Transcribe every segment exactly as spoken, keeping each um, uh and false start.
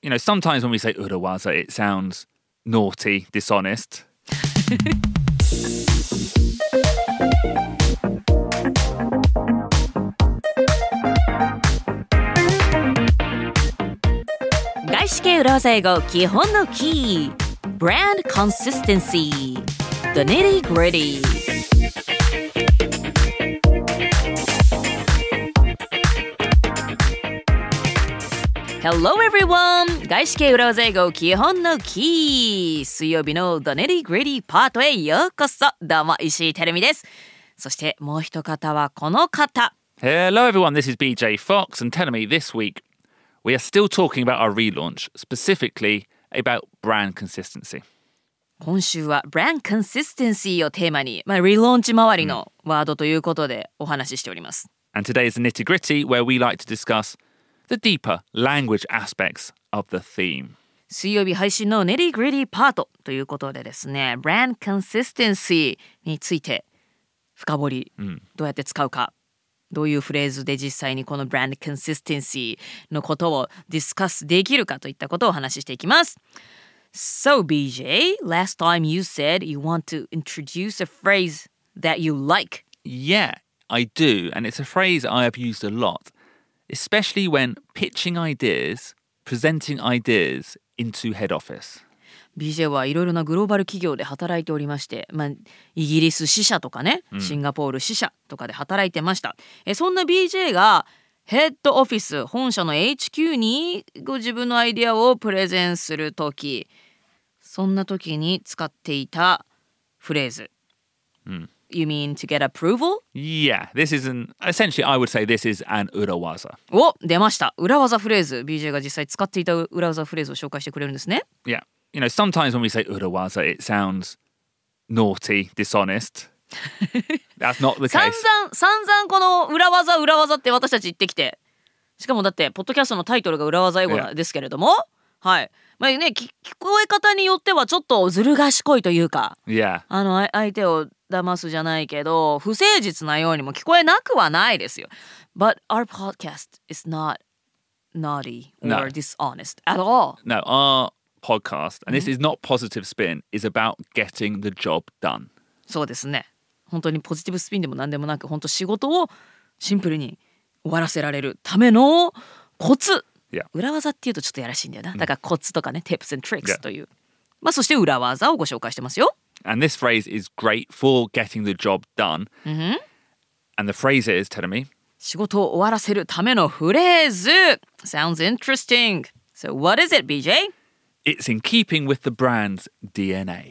you know, sometimes when we say urawaza, it sounds naughty, dishonest. 外資系裏技英語基本のキー Brand consistency The nitty gritty Hello everyone! 外資系裏技英語基本のキー水曜日の The nitty gritty パートへようこそどうも石井てるみですそしてもう一方はこの方 Hello everyone, this is B J Fox and telling me this week we are still talking about our relaunch, specifically about brand consistency. 今週は brand consistency をテーマに、まあ、リローンチ周りのワードということでお話ししております。 And today is the nitty gritty where we like to discuss the deeper language aspects of the theme. 水曜日配信の nitty gritty パートということでですね、brand consistency について深掘り、うん、どうやって使うか。どういうフレーズで実際にこの brand consistency のことをディスカスできるかといったことをお話ししていきます。So B J, last time you said you want to introduce a phrase that you like. Yeah, I do. And it's a phrase I have used a lot, especially when pitching ideas, presenting ideas into head office. ビージェー はいろいろなグローバル企業で働いておりまして、まあ、イギリス支社とかね、シンガポール支社とかで働いてました。えそんな ビージェー がヘッドオフィス、本社の エイチキュー にご自分のアイデアをプレゼンするとき、そんなときに使っていたフレーズ。うん、You mean to get approval? Yeah, this is an, essentially I would say this is an urawaza. お、出ました。裏技フレーズ。ビージェー が実際使っていた裏技フレーズを紹介してくれるんですね。 Yeah.You know, sometimes when we say urawaza, it sounds naughty, dishonest. That's not the case. 散々、散々この裏技、裏技って私たち言ってきて。しかもだって、ポッドキャストのタイトルが裏技英語ですけれども。Yeah. はい。まあね、聞こえ方によってはちょっとずる賢いというか。 Yeah. あの、相手を騙すじゃないけど、不誠実なようにも聞こえなくはないですよ。But our podcast is not naughty or no. dishonest at all. No, our...podcast, and this is not positive spin, is about getting the job done. そうですね。本当にポジティブスピンでも何でもなく、本当仕事をシンプルに終わらせられるためのコツ。 Yeah. 裏技っていうとちょっとやらしいんだよな。だからコツとかね、tips and tricks という。Yeah. まあそして裏技をご紹介してますよ。 And this phrase is great for getting the job done. Mm-hmm. And the phrase is, tell me. 仕事を終わらせるためのフレーズ。Sounds interesting. So what is it, B J?It's in keeping with the brand's D N A.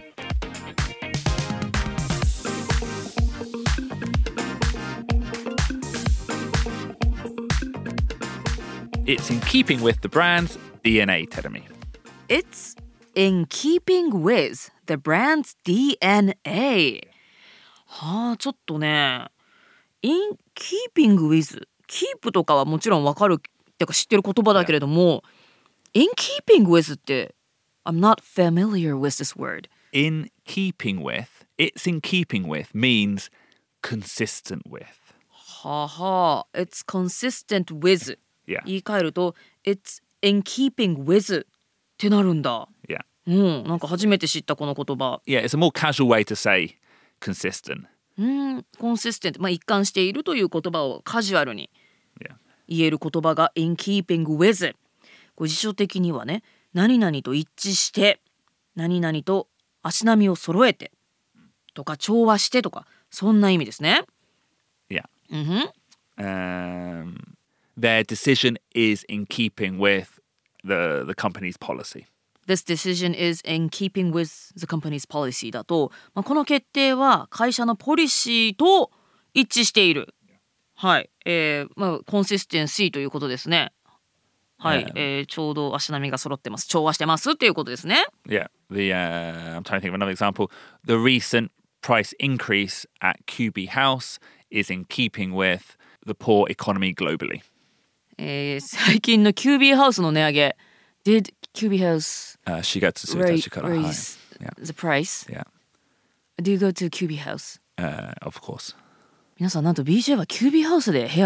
It's in keeping with the brand's D N A, Terumi. It's in keeping with the brand's D N A. はあ、ちょっとね、in keeping with、keep とかはもちろんわかるってか知ってる言葉だけれども、In keeping with って I'm not familiar with this word. In keeping with, it's in keeping with means consistent with. はは It's consistent with. Yeah. 言い換えると It's in keeping with ってなるんだ。 Yeah. うん、なんか初めて知ったこの言葉。 Yeah, it's a more casual way to say consistent. うん、consistent。まあ一貫しているという言葉をカジュアルに言える言葉が in keeping with。辞書的にはね、何々と一致して、何々と足並みを揃えてとか調和してとか、そんな意味ですね。 Yeah. Mm-hmm. Um, their decision is in keeping with the, the company's policy. This decision is in keeping with the company's policy だと、まあ、この決定は会社のポリシーと一致している。はい。えー、まあ、コンシステンシーということですね。はい、えー、ちょうど足並みが揃ってます。調和してますっていうことですね。 Yeah, the uh, I'm trying to think of another example. The recent price increase at Q B House is in keeping with the poor economy globally. えー、最近の キュービー ハウスの値上げ。Did キュービー House uh, しがつついたちから raise the price? Yeah. Do you go to キュービー House? Uh, of course. 皆さんなんと ビージェー は キュービー ハウスで部屋を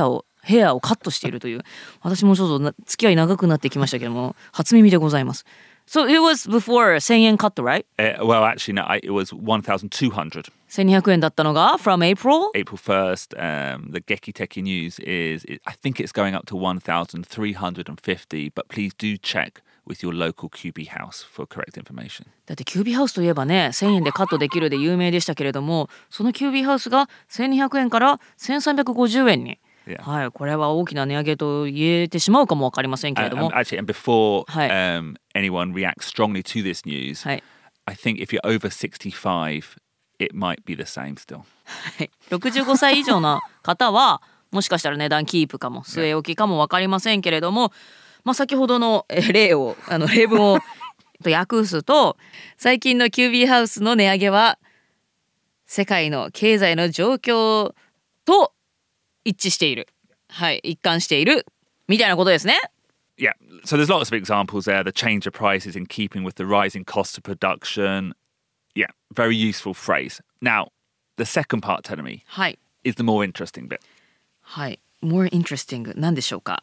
ヘアをカットしているという、私もちょっとな付き合い長くなってきましたけども、初耳でございます。So it was before せんえんカット right? Uh, well, actually, no, I, it was one thousand two hundred. せんにひゃくえんだったのが from April? April first, um, the Geki Teki News is, it, I think it's going up to one thousand three hundred fifty, but please do check with your local キュービー house for correct information. だってキュービーハウスといえばね、せんえんでカットできるで有名でしたけれども、そのキュービーハウスがせんにひゃくえんからせんさんびゃくごじゅうえんに。 Yeah. はい、これは大きな値上げと言えてしまうかもわかりませんけれど And, も。 um, actually, and before はい。 um, anyone reacts strongly to this news, はい。 I think if you're over sixty-five, it might be the same still. ろくじゅうごさい以上の方はもしかしたら値段キープかも据え置きかも分かりませんけれども、まあ、先ほどのえ例をあの例文をと訳すと、最近のキュービーハウスの値上げは世界の経済の状況と一致している、はい、一貫しているみたいなことですね。 Yeah, so there's lots of examples there. The change of prices in keeping with the rising cost of production. Yeah, very useful phrase. Now, the second part, Tenemi, はい is the more interesting bit. はい more interesting 何でしょうか。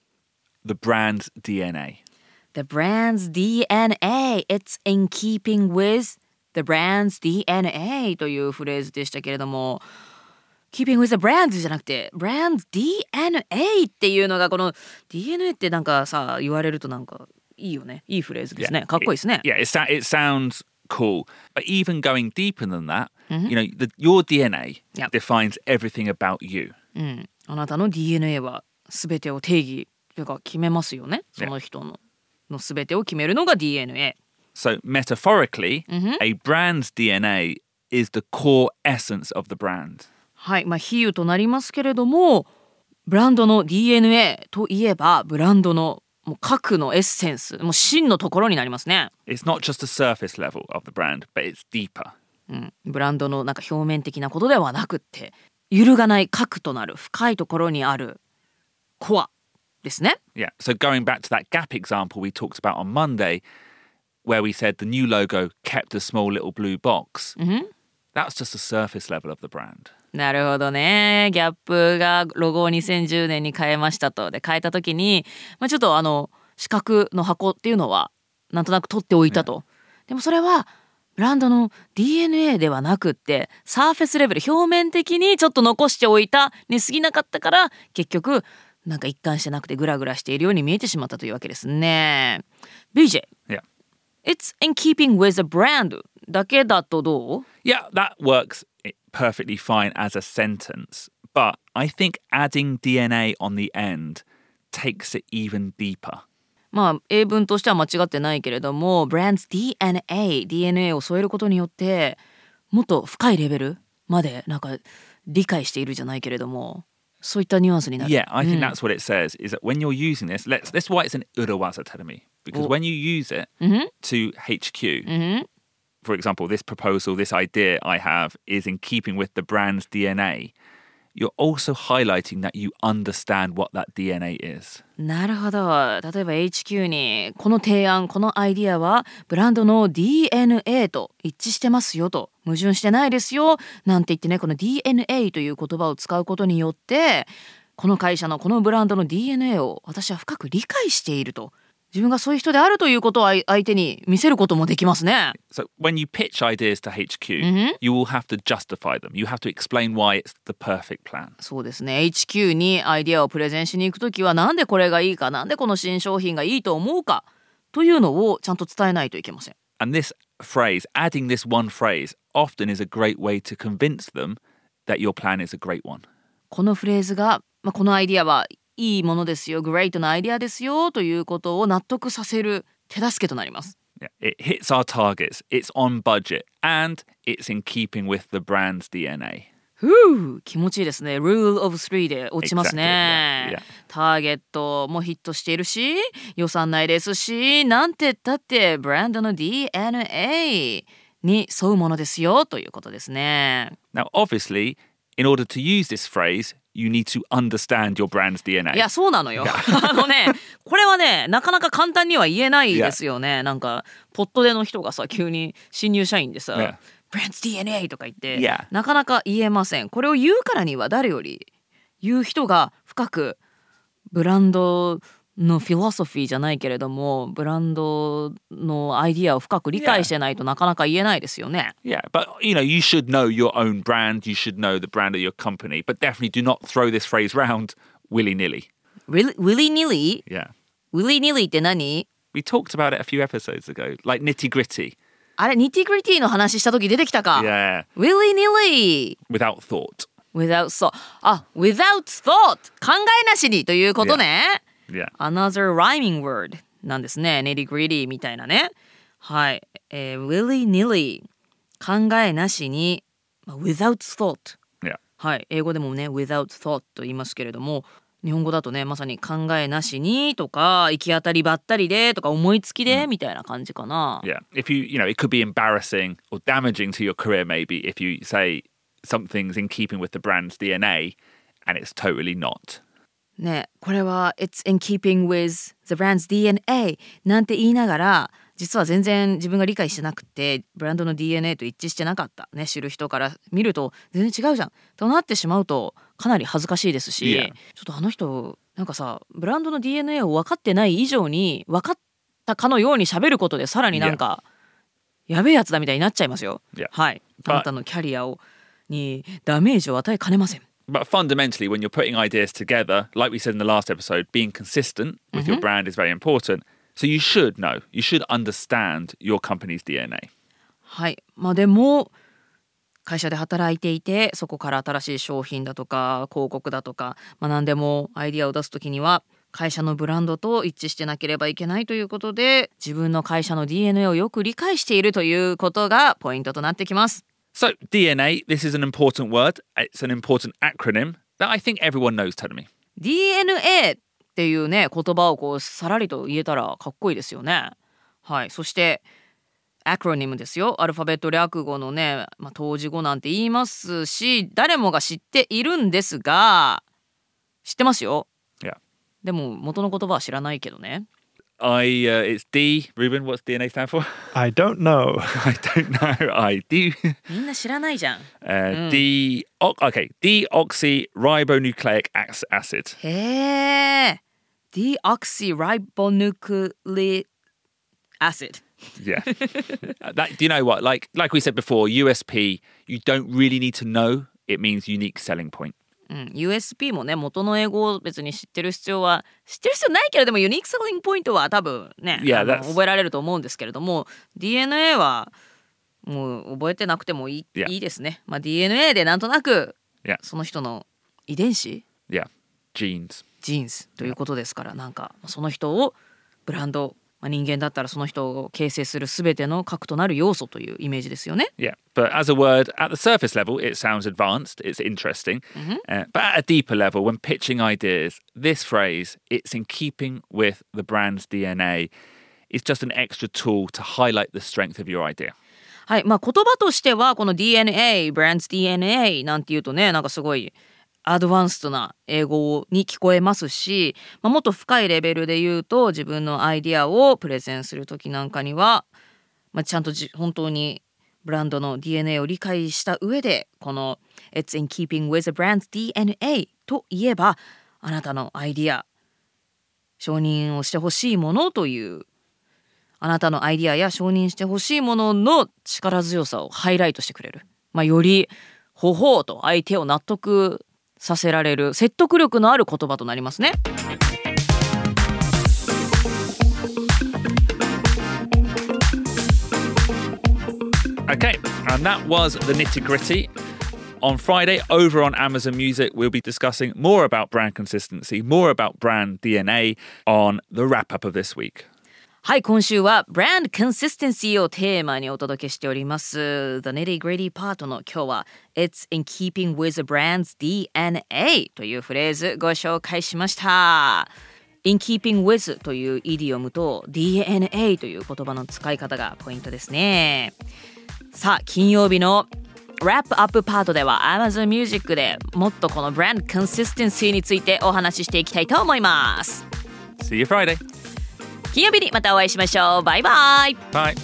The brand's ディーエヌエー. The brand's ディーエヌエー It's in keeping with the brand's ディーエヌエー というフレーズでしたけれども、 Keeping with the brand じゃなくて brand's ディーエヌエー っていうのが、この ディーエヌエー ってなんかさ言われるとなんかいいよね、いいフレーズですね、 Yeah, かっこいいですね。 It, yeah, it, sa- it sounds cool. But even going deeper than that, you know, the, your ディーエヌエー Yep. defines everything about you. うん、あなたの ディーエヌエー は全てを定義というか決めますよね。その人のの全てを決めるのが ディーエヌエー。 So metaphorically, a brand's ディーエヌエー is the core essence of the brand. はい、まあ比喩となりますけれども、ブランドの ディーエヌエー といえばブランドのもう核のエッセンス、もう真のところになりますね。 It's not just the surface level of the brand, but it's deeper. うん、ブランドのなんか表面的なことではなくって、揺るがない核となる深いところにあるコアですね。 Yeah. So going back to that Gap example we talked about on Monday, where we said the new logo kept a small little blue box. That's just the surface level of the brand. なるほどね。ギャップがロゴをにせんじゅうねんに変えましたと。で変えた時に、まあ、ちょっとあの四角の箱っていうのはなんとなく取っておいたと。でもそれはブランドの ディーエヌエー ではなくって、サーフェスレベル、表面的にちょっと残しておいたに過ぎなかったから、結局なんか一貫してなくてグラグラしているように見えてしまったというわけですね。 ビージェー、 Yeah. It's in keeping with the brand だけだとどう？ Yeah, that works perfectly fine as a sentence. But I think adding ディーエヌエー on the end takes it even deeper. まあ英文としては間違ってないけれども、 Brand's ディーエヌエー ディーエヌエー を添えることによってもっと深いレベルまでなんか理解しているじゃないけれども、そういったニュアンスになる。 Yeah, I think that's what it says, is that when you're using this, let's, that's why it's an urawaza, Terumi. Because when you use it to H Q, for example, this proposal, this idea I have is in keeping with the brand's ディーエヌエー, you're also highlighting that you understand what that ディーエヌエー is. なるほど。例えば エイチキュー にこの提案、このアイディアはブランドの ディーエヌエー と一致してますよと、矛盾してないですよなんて言ってね、この ディーエヌエー という言葉を使うことによって、この会社のこのブランドの ディーエヌエー を私は深く理解していると、自分がそういう人であるということを相手に見せることもできますね。 So when you pitch ideas to H Q, you will have to justify them. You have to explain why it's the perfect plan. そうですね。エイチキュー にアイデアをプレゼンしに行くときは、なんでこれがいいか、なんでこの新商品がいいと思うかというのをちゃんと伝えないといけません。 And this phrase, adding this one phrase, often is a great way to convince them that your plan is a great one. このフレーズが、まあ、このアイディアはいいものですよ、グレートなアイディアですよということを納得させる手助けとなります。 Yeah, it hits our targets, it's on budget, and it's in keeping with the brand's ディーエヌエー. ふう、気持ちいいですね。 Rule of three で落ちますね。 Exactly, yeah, yeah. ターゲットもヒットしているし、予算内ですし、なんて言ったってブランドの ディーエヌエー に沿うものですよということですね。 Now, obviously, in order to use this phrase, you need to understand your brand's ディーエヌエー. いや、そうなのよ。あのね、これはね、なかなか簡単には言えないですよね。なんかポットでの人がさ、急に新入社員でさ、 Yeah. Brand's ディーエヌエー とか言って、 Yeah. なかなか言えません。これを言うからには誰より言う人が深くブランドのフィロソフィーじゃないけれども、ブランドのアイディアを深く理解してないとなかなか言えないですよね。 Yeah, but you know, you should know your own brand. You should know the brand of your company. But definitely do not throw this phrase round willy-nilly. Really, willy-nilly? Yeah. Willy-nilly って何？ We talked about it a few episodes ago. Like nitty-gritty. あれ、ニティグリティの話した時出てきたか。 Yeah. Willy-nilly. Without thought. Without thought. あ、without thought. 考えなしにということね。 Yeah. Another rhyming word なんですね。nitty-gritty みたいなね。はい。えー、willy-nilly。考えなしに、without thought。 Yeah. はい。英語でもね、without thought と言いますけれども、日本語だとね、まさに考えなしにとか、行き当たりばったりでとか、思いつきでみたいな感じかな。 Yeah. If you, you know, it could be embarrassing or damaging to your career maybe if you say something's in keeping with the brand's ディーエヌエー and it's totally not. ね、これは It's in keeping with the brand's ディーエヌエー なんて言いながら、実は全然自分が理解してなくて、ブランドの ディーエヌエー と一致してなかったね、知る人から見ると全然違うじゃんとなってしまうとかなり恥ずかしいですし、 Yeah. ちょっとあの人なんかさ、ブランドの ディーエヌエー を分かってない以上に分かったかのように喋ることでさらになんか、yeah. やべえやつだみたいになっちゃいますよ。 Yeah. はい。あなたのキャリアをにダメージを与えかねません。 But fundamentally, when you're putting ideas together, like we said in the last episode, being consistent with your brand is very important. So you should know, you should understand your company's ディーエヌエー. はい。まあでも会社で働いていて、そこから新しい商品だとか広告だとか、まあ何でもアイディアを出すときには会社のブランドと一致してなければいけないということで、自分の会社の ディーエヌエー をよく理解しているということがポイントとなってきます。 So ディーエヌエー, this is an important word. It's an important acronym that I think everyone knows, Tadami. ディーエヌエー っていうね言葉をこうさらりと言えたらかっこいいですよね。はい。そしてアクロニムですよ。アルファベット略語のね、まあ、当時語なんて言いますし、誰もが知っているんですが、知ってますよ。 Yeah. でも元の言葉は知らないけどね。 I, uh, it's D. Ruben, what's ディーエヌエー stand for? I don't know. I don't know. I do. みんな知らないじゃん。 Uh, D. Okay. Deoxyribonucleic acid. へえ。Deoxyribonucleic acid. Yeah. that, do you know what? Like, like we said before, U S P, you don't really need to know. It means unique selling point. うん、ユーエスピー もね元の英語を別に知ってる必要は知ってる必要ないけれどもユニークセリングポイントは多分ね、 yeah, あの覚えられると思うんですけれども ディーエヌエー はもう覚えてなくてもいい、 yeah. いいですね、まあ、ディーエヌエー でなんとなく Yeah. その人の遺伝子 Yeah. Genes. ジーンズということですから、なんかその人をブランド、まあ、人間だったらその人を形成するすべての核となる要素というイメージですよね。 Yeah, but as a word, at the surface level, it sounds advanced, it's interesting. Mm-hmm. Uh, but at a deeper level, when pitching ideas, this phrase, it's in keeping with the brand's ディーエヌエー, is just an extra tool to highlight the strength of your idea. はい、まあ言葉としてはこの ディーエヌエー、ブランド ディーエヌエー なんていうとね、なんかすごいアドバンストな英語に聞こえますし、まあ、もっと深いレベルで言うと自分のアイディアをプレゼンするときなんかには、まあ、ちゃんとじ本当にブランドの ディーエヌエー を理解した上でこの It's in keeping with the brand's ディーエヌエー といえばあなたのアイディア承認をしてほしいものというあなたのアイディアや承認してほしいものの力強さをハイライトしてくれる、まあ、よりほほうと相手を納得させられる説得力のある言葉となりますね。 Okay, and that was the nitty-gritty. On Friday, over on Amazon Music, we'll be discussing more about brand consistency, more about brand ディーエヌエー on the wrap-up of this week. はい、今週は Brand Consistency をテーマにお届けしております The Nitty Gritty パートの今日は It's in keeping with the brand's ディーエヌエー というフレーズご紹介しました。 In keeping with というイディオムと ディーエヌエー という言葉の使い方がポイントですね。さあ金曜日のラップアップパートでは Amazon Music でもっとこの Brand Consistency についてお話ししていきたいと思います。 See you Friday. 金曜日にまたお会いしましょう。バイバイ。 Bye.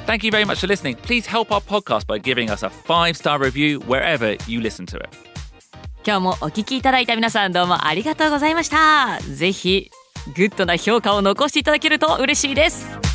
Thank you very much for listening. Please help our podcast by giving us a five-star review wherever you listen to it. 今日もお聞きいただいた皆さんどうもありがとうございました。ぜひグッドな評価を残していただけると嬉しいです。